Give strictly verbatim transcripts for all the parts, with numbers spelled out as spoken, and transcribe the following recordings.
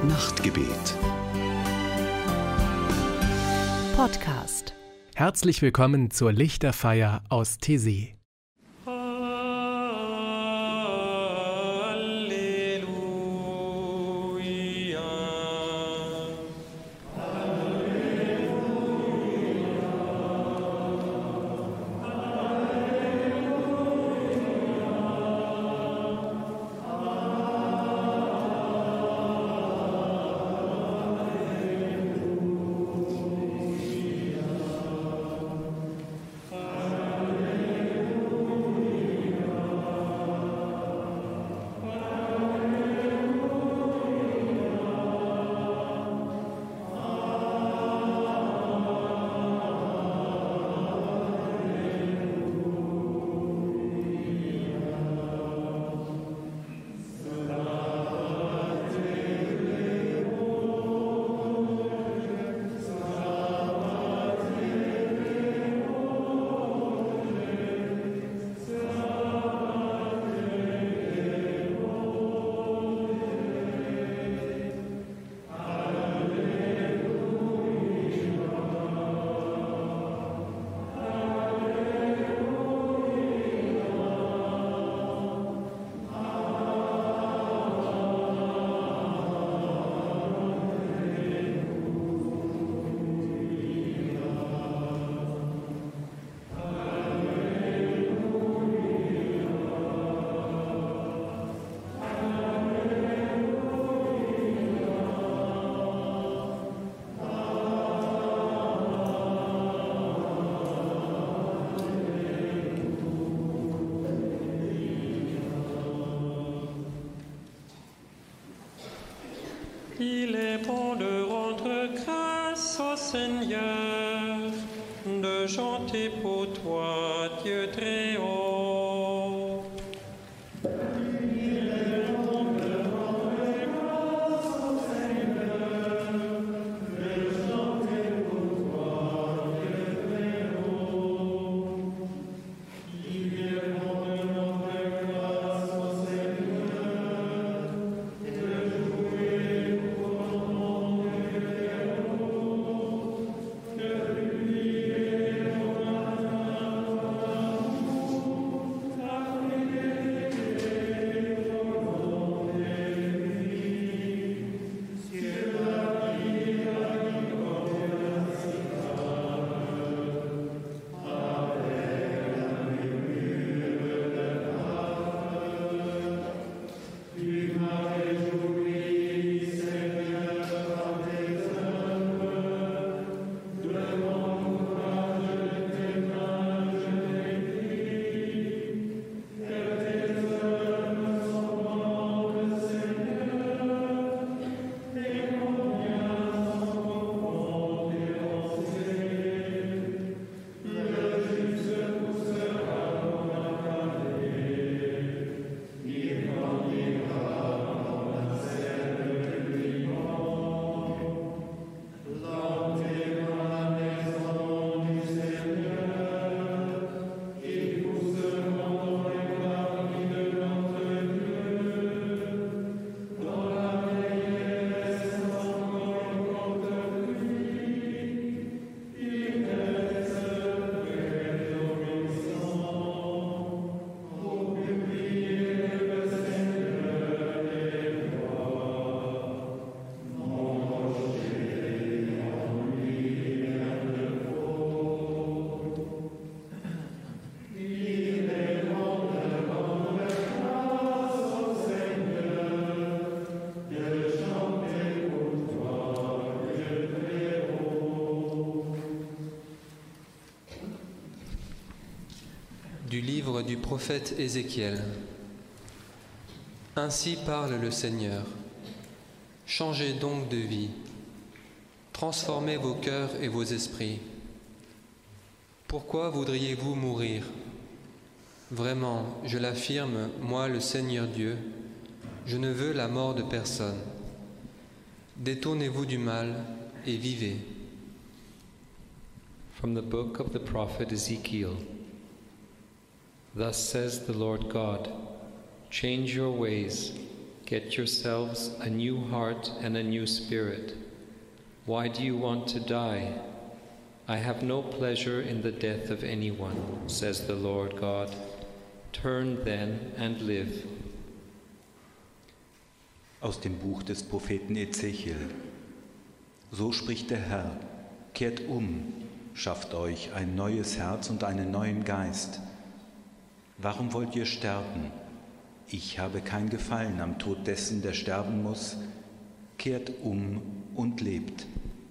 Nachtgebet. Podcast. Herzlich willkommen zur Lichterfeier aus Taizé. Il est bon de rendre grâce au Seigneur, de chanter pour toi, Dieu très haut. Il est bon de rendre grâce au Seigneur, de chanter pour toi, Dieu très haut. Il est bon de rendre grâce au Seigneur, de jouer Du livre du prophète Ézéchiel. Ainsi parle le Seigneur. Changez donc de vie. Transformez vos cœurs et vos esprits. Pourquoi voudriez-vous mourir? Vraiment, je l'affirme, moi le Seigneur Dieu, je ne veux la mort de personne. Détournez-vous du mal et vivez. From the book of the prophet Ezekiel. Thus says the Lord God, change your ways, Get yourselves a new heart and a new spirit. Why do you want to die? I have no pleasure in the death of anyone, says the Lord God. Turn then and live. Aus dem Buch des Propheten Ezechiel. So spricht der Herr: Kehrt um, schafft euch ein neues Herz und einen neuen Geist. Warum wollt ihr sterben? Ich habe kein Gefallen am Tod dessen, der sterben muss. Kehrt um und lebt.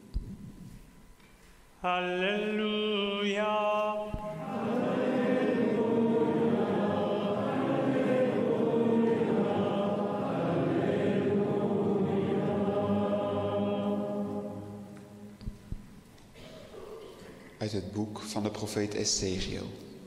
Halleluja. Uit het boek van de profeet Ezechiel.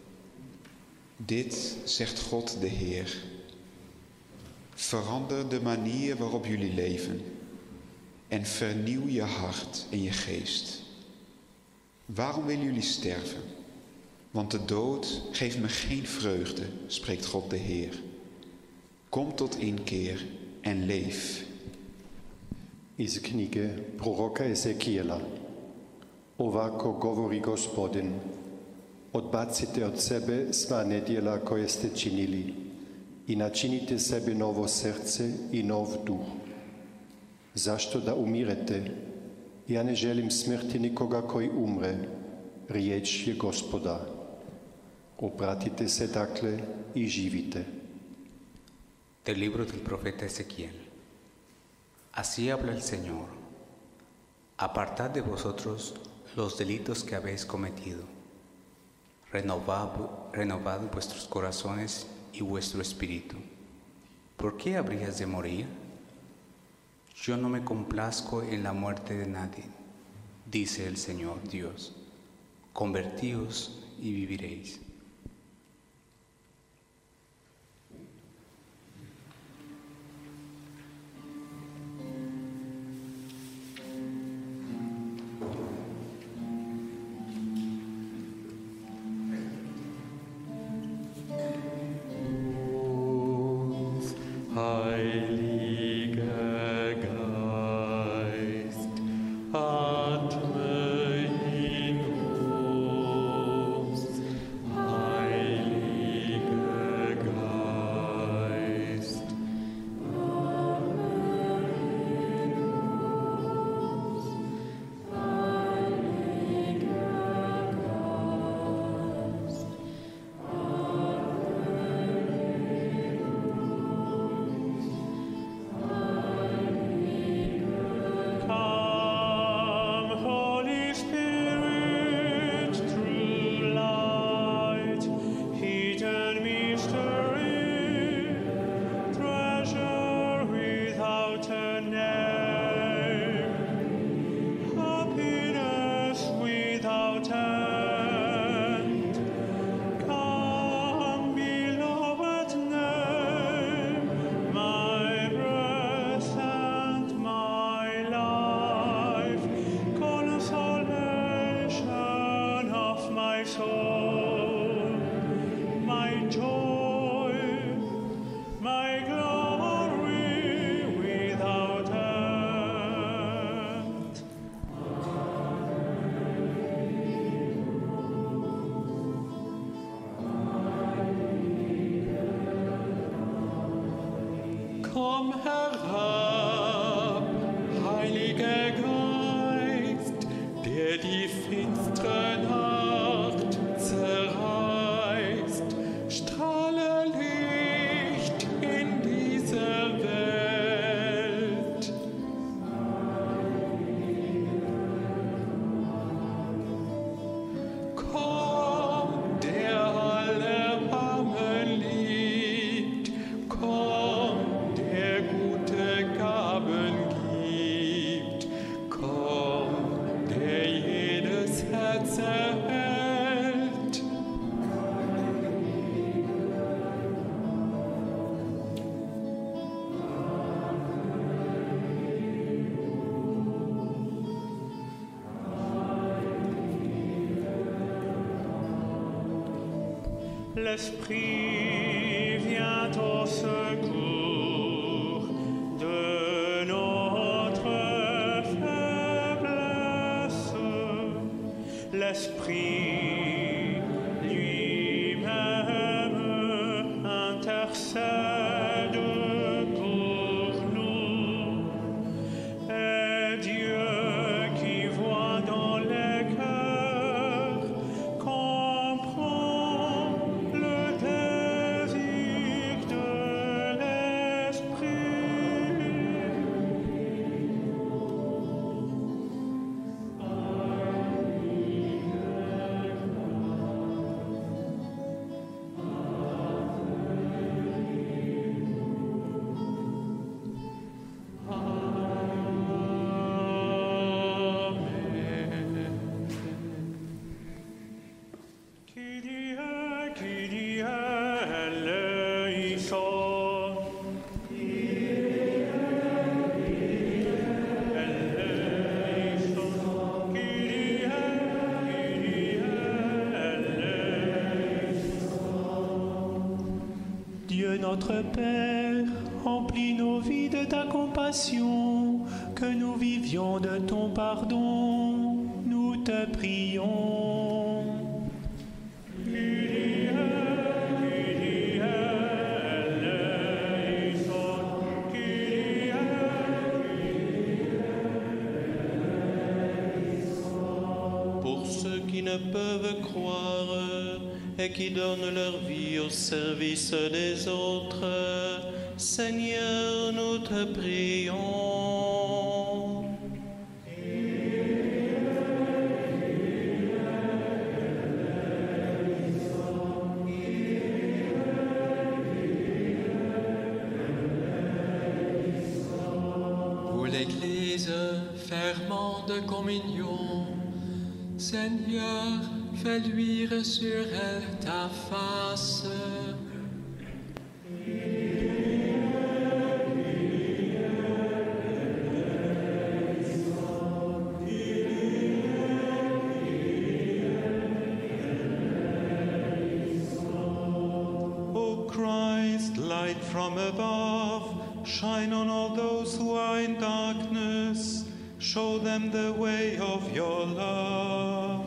Dit zegt God de Heer. Verander de manier waarop jullie leven en vernieuw je hart en je geest. Waarom willen jullie sterven? Want de dood geeft me geen vreugde, spreekt God de Heer. Kom tot inkeer en leef. Iz knjige proroka Ezekijela. Ovako govori Gospodin, odbacite od sebe sva nedjela koje ste činili i načinite sebi novo srce i nov duh. Zašto da umirete? Ja ne želim smrti nikoga koji umre, riječ je Gospoda. Obratite se dakle i živite. Del libro del profeta Ezequiel. Así habla el Señor. Apartad de vosotros los delitos que habéis cometido. Renovad, renovad vuestros corazones y vuestro espíritu. ¿Por qué habrías de morir? Yo no me complazco en la muerte de nadie, dice el Señor Dios. Convertíos y viviréis. Komm herab, Heiliger Geist, der die finstere Nacht zerreißt. Strahle Licht in dieser Welt. Komm, der alle Armen liebt. Komm, der gute Gaben gibt. Komm, der jedes Herz erhält. L'Esprit vient au secours, l'Esprit lui-même intercède pour nous. Et Dieu qui voit dans les cœurs comprend le désir de l'Esprit. Dieu notre Père, remplis nos vies de ta compassion, que nous vivions de ton pardon, nous te prions. Pour ceux qui ne peuvent croire et qui donnent leur vie au service des autres, Seigneur, nous te prions. Pour l'Église, ferment de communion, Seigneur, fais luire sur elle ta face. O Christ, light from above, shine on all those who are in darkness, show them the way of your love.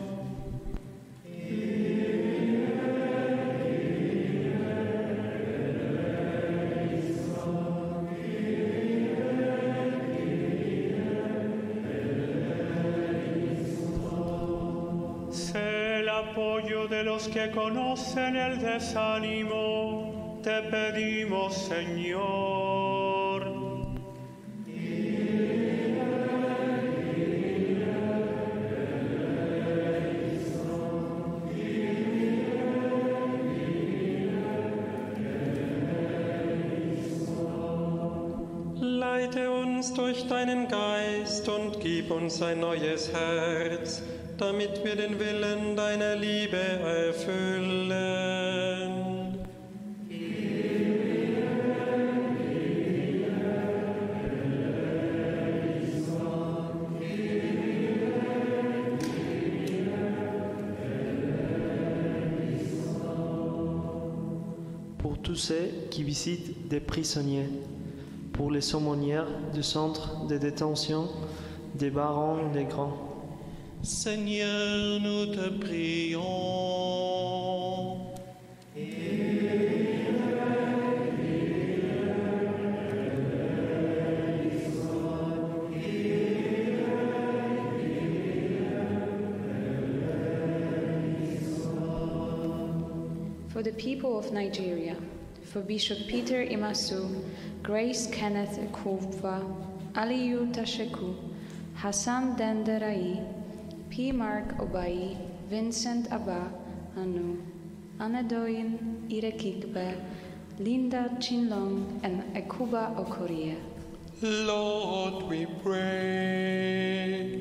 Sé el apoyo de los que conocen el desánimo, te pedimos, Señor. Leite uns durch deinen Geist und gib uns ein neues Herz, damit wir den Willen deiner Liebe erfüllen. Pour tous ceux qui visitent des prisonniers, pour les aumônières du centre de détention des barons des grands. Seigneur, nous te prions. For the people of Nigeria, for Bishop Peter Imasu, Grace Kenneth Ekufwa, Aliyu Tasheku, Hassan Denderai, P. Mark Obai, Vincent Abba Anu, Anadoyin Irekikbe, Linda Chinlong, and Ekuba Okorie. Lord, we pray.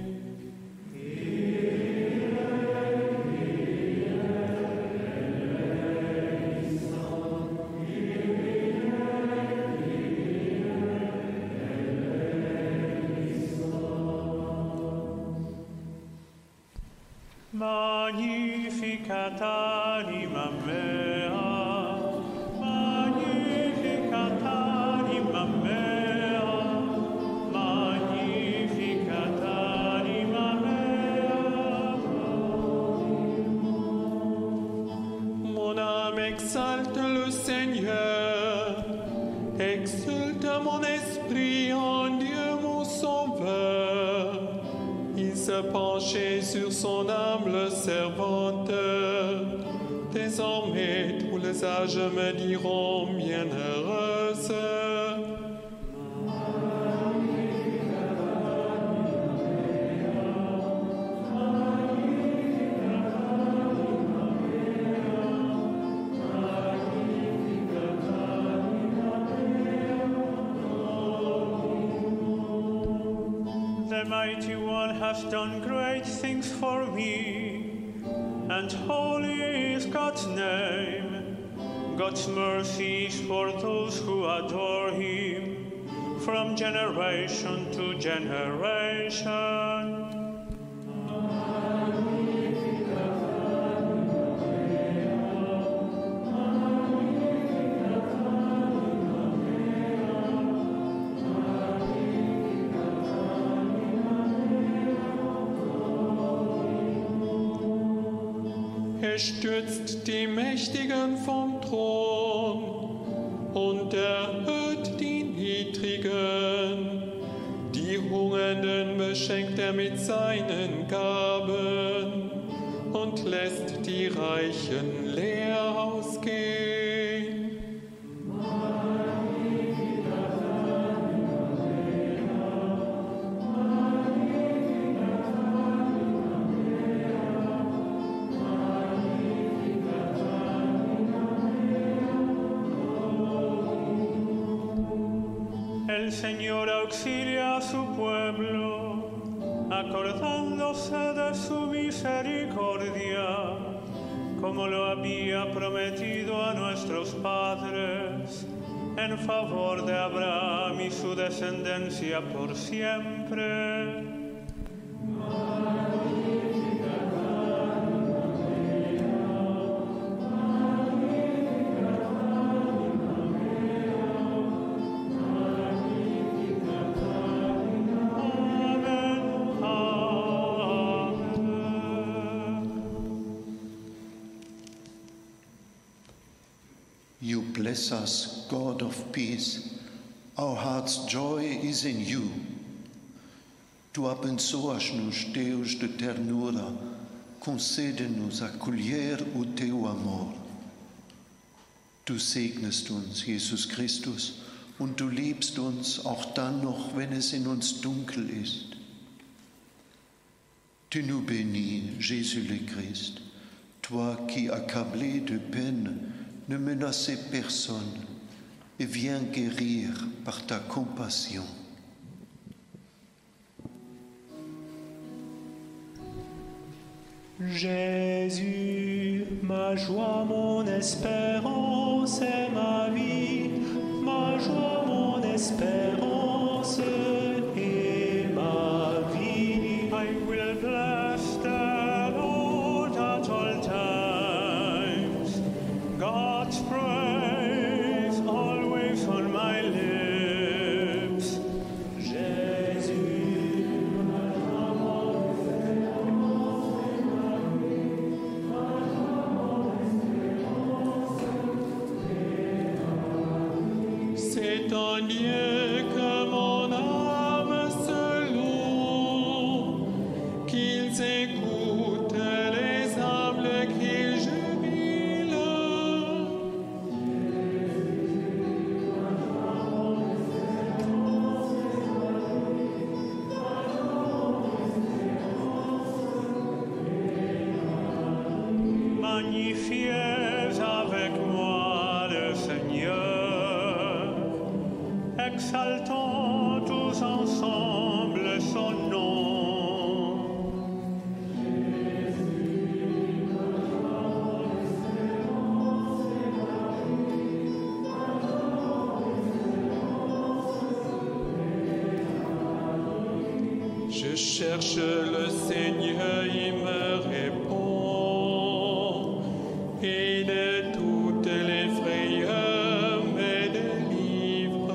Magnificat anima mea, magnificat anima mea, magnificat anima mea. Exulte mon esprit en Dieu mon sauveur. Il se penchait sur son humble servante. Désormais tous les âges me diront bienheureuse. The Mighty One has done great things for me, and holy is God's name. God's mercy is for those who adore Him, from generation to generation. Er stürzt die Mächtigen vom Thron und erhöht die Niedrigen. Die Hungernden beschenkt er mit seinen Gaben und lässt die Reichen leer ausgehen. El Señor auxilia a su pueblo, acordándose de su misericordia, como lo había prometido a nuestros padres, en favor de Abraham y su descendencia por siempre. You bless us, God of peace. Our heart's joy is in you. Tu abençoas-nos, Deus de ternura, concede-nos acolher o teu amor. Du segnest uns, Jesus Christus, und du liebst uns auch dann noch, wenn es in uns dunkel ist. Tu nous bénis, Jésus le Christ, toi qui, accablé de peine, ne menacez personne et viens guérir par ta compassion. Jésus, ma joie, mon espérance et ma vie, ma joie, mon espérance et ma vie. I will bless the Lord at all times. God's praise always on my lips. Jésus, ma joie, mon espérance et ma vie, ma joie, mon espérance et ma vie. C'est en Dieu que mon âme se loue, qu'ils écoutent les humbles qui jubilent. Magnifiez avec moi le Seigneur, exaltons tous ensemble son nom. Je cherche le Seigneur, il me répond, et de toutes les frayeurs me délivre.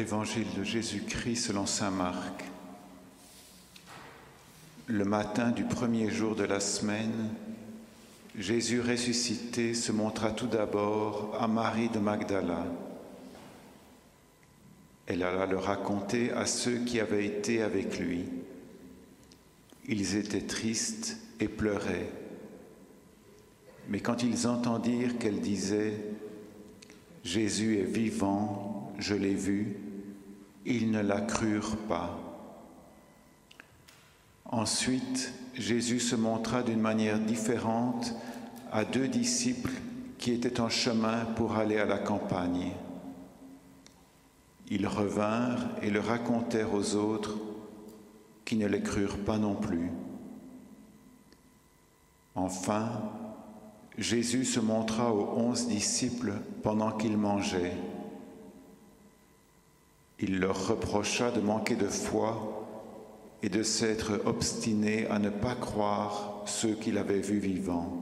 Évangile de Jésus-Christ selon saint Marc. Le matin du premier jour de la semaine, Jésus ressuscité se montra tout d'abord à Marie de Magdala. Elle alla le raconter à ceux qui avaient été avec lui. Ils étaient tristes et pleuraient. Mais quand ils entendirent qu'elle disait « Jésus est vivant, je l'ai vu », ils ne la crurent pas. Ensuite, Jésus se montra d'une manière différente à deux disciples qui étaient en chemin pour aller à la campagne. Ils revinrent et le racontèrent aux autres qui ne les crurent pas non plus. Enfin, Jésus se montra aux onze disciples pendant qu'ils mangeaient. Il leur reprocha de manquer de foi et de s'être obstinés à ne pas croire ceux qu'il avait vus vivants.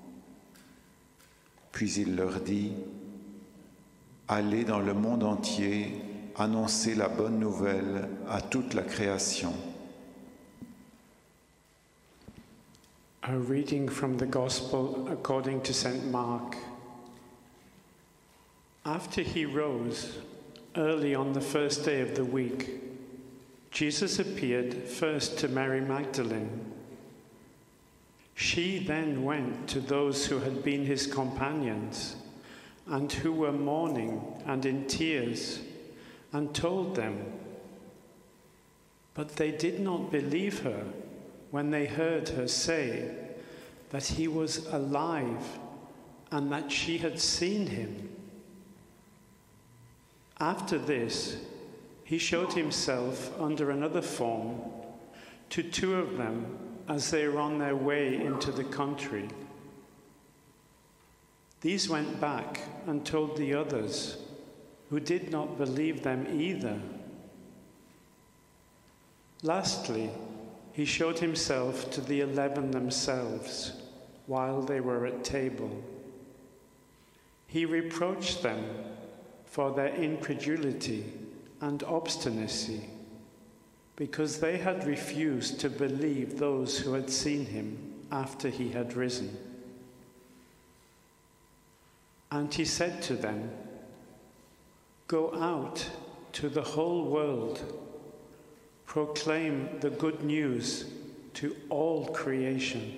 Puis il leur dit « Allez dans le monde entier, annoncer la bonne nouvelle à toute la création. » A reading from the Gospel according to Saint Mark. After he rose, early on the first day of the week, Jesus appeared first to Mary Magdalene. She then went to those who had been his companions and who were mourning and in tears, and told them. But they did not believe her when they heard her say that he was alive and that she had seen him. After this, he showed himself under another form to two of them as they were on their way into the country. These went back and told the others, who did not believe them either. Lastly, he showed himself to the eleven themselves while they were at table. He reproached them for their incredulity and obstinacy, because they had refused to believe those who had seen him after he had risen. And he said to them, "Go out to the whole world, proclaim the good news to all creation."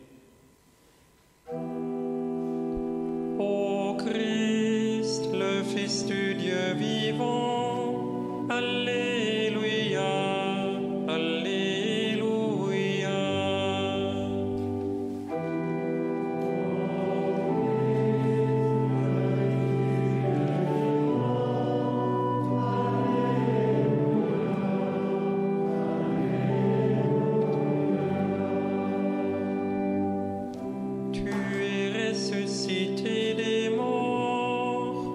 Ô Christ, le Fils du Dieu vivant, Alléluia, Alléluia. Tu es ressuscité des morts.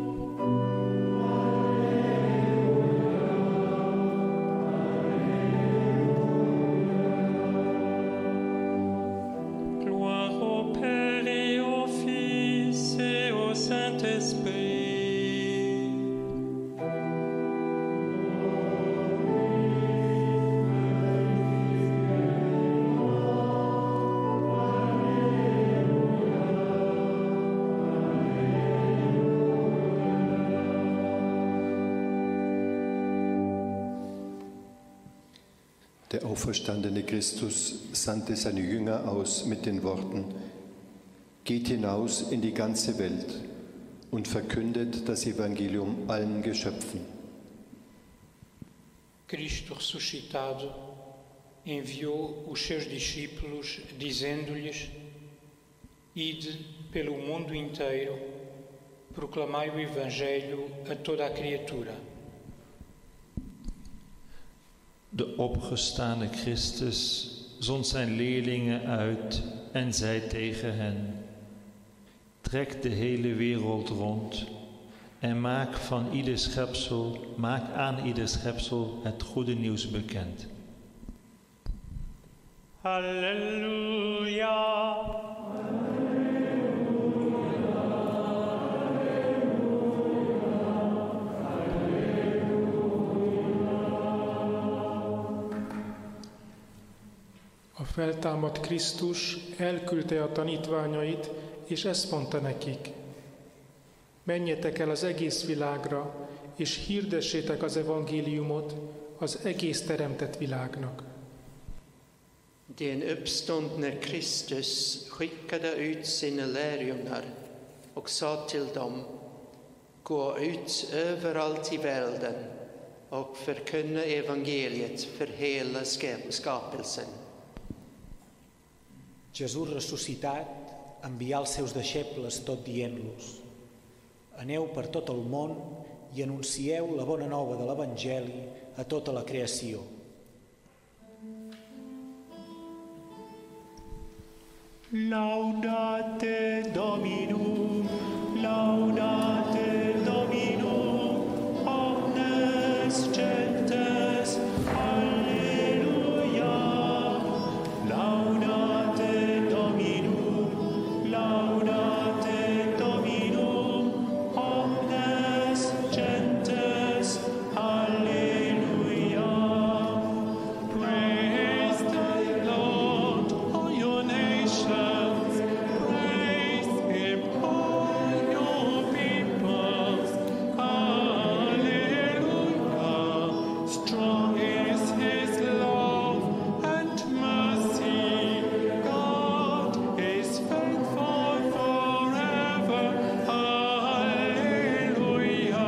Gloire au Père et au Fils et au Saint-Esprit. Der auferstandene Christus sandte seine Jünger aus mit den Worten: Geht hinaus in die ganze Welt und verkündet das Evangelium allen Geschöpfen. Cristo ressuscitado enviou os seus discípulos, dizendo-lhes: Ide pelo mundo inteiro, proclamai o Evangelho a toda a criatura. De opgestane Christus zond zijn leerlingen uit en zei tegen hen: Trek de hele wereld rond en maak van ieder schepsel, maak aan ieder schepsel het goede nieuws bekend. Halleluja. A feltámadt Krisztus elküldte a tanítványait, és ezt mondta nekik: menjetek el az egész világra, és hirdessétek az evangéliumot az egész teremtett világnak. Den uppståndne Kristus skickade ut sina lärjungar och sa till dem: gå ut överallt i världen och förkunna evangeliet för hela skapelsen. Jesús ressuscitat envià els seus deixebles tot dient-los: aneu per tot el món i anuncieu la bona nova de l'Evangeli a tota la creació. Laudate Dominum, laudate Dominum, omnes gentes, alleluia. Laudate Dominum, laudate Dominum, omnes gentes, alleluia. Praise the Lord, all your nations, praise Him, all your peoples, alleluia. Strong is His love and mercy, God is faithful forever, alleluia.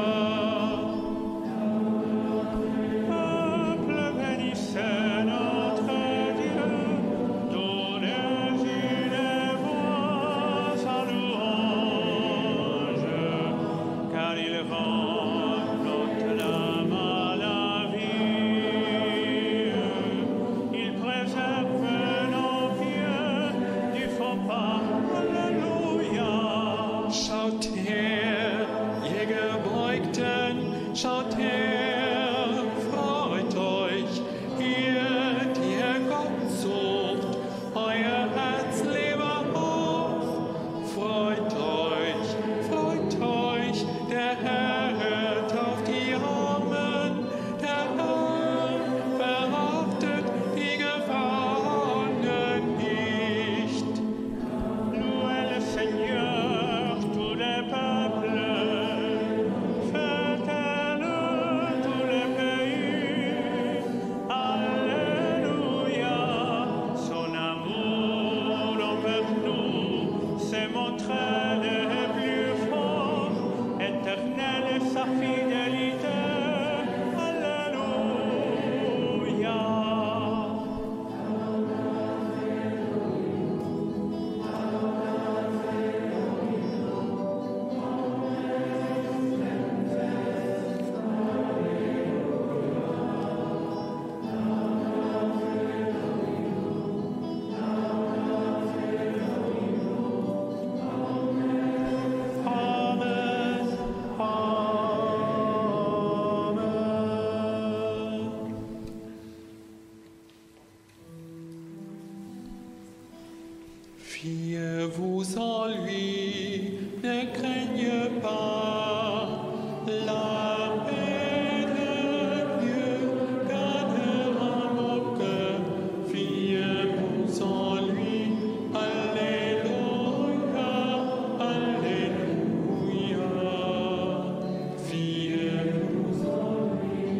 Peuple, bénissez notre Dieu, donnez-lui des voix sa louange, car il rencontre l'âme à la vie, il préserve nos pieds du faux pas, alléluia. Schaut her, ihr Gebeugten, schaut her, freut euch, ihr, die ihr Gott sucht, euer Herz lebe auf. Freut euch, freut euch, der Herr hört auf die Armen, der Herr verhaftet die Gefangenen nicht. Louez le Seigneur, tous les peuples, fêtez-le tous les pays, alléluia. Son amour envers nous s'est montré le plus fort, éternelle est sa fidélité, alléluia. Amen, amen. Fiez-vous en lui, ne craignez pas. La paix de Dieu gagnera mon cœur. Fiez-vous en lui, alléluia, alléluia. Fiez-vous en lui,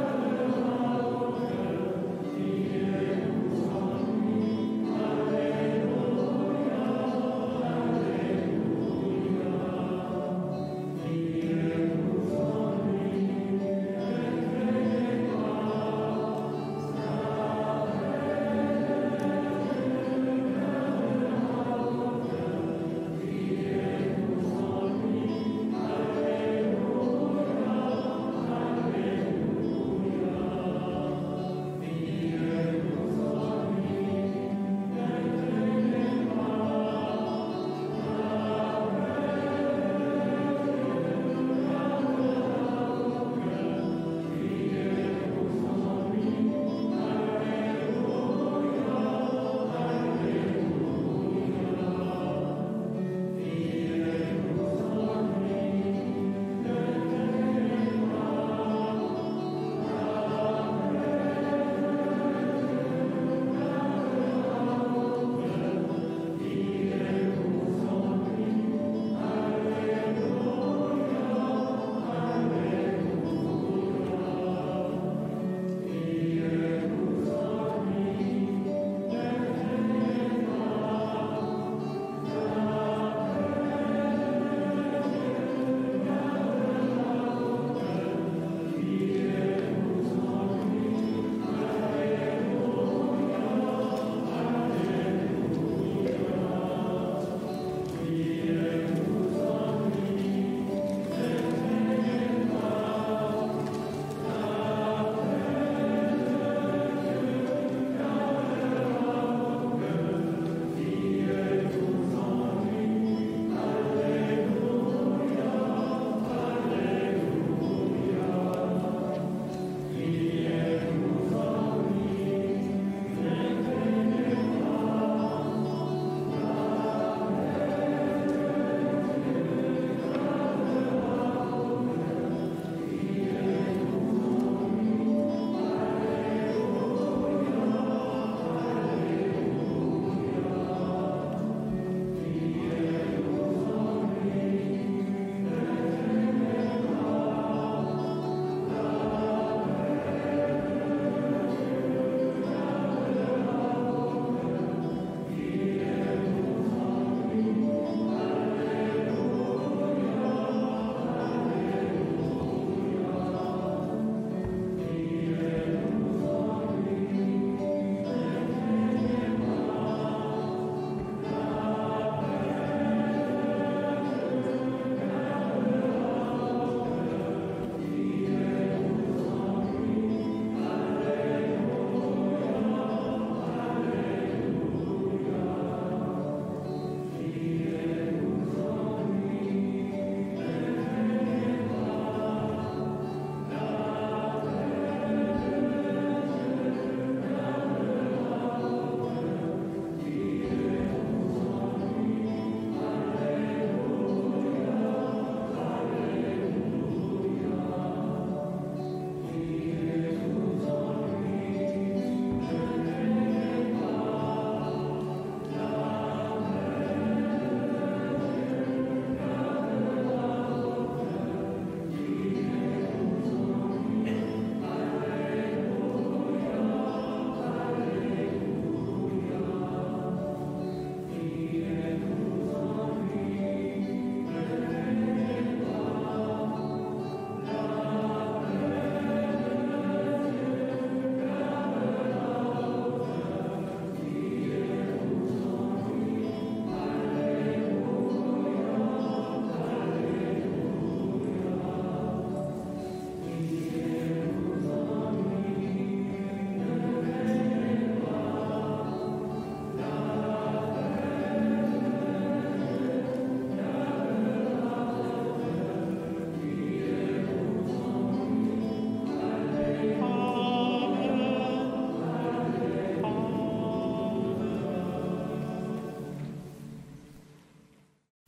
alléluia.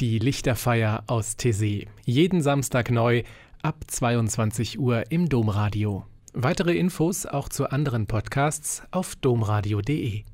Die Lichterfeier aus Taizé. Jeden Samstag neu ab zweiundzwanzig Uhr im Domradio. Weitere Infos auch zu anderen Podcasts auf domradio punkt de.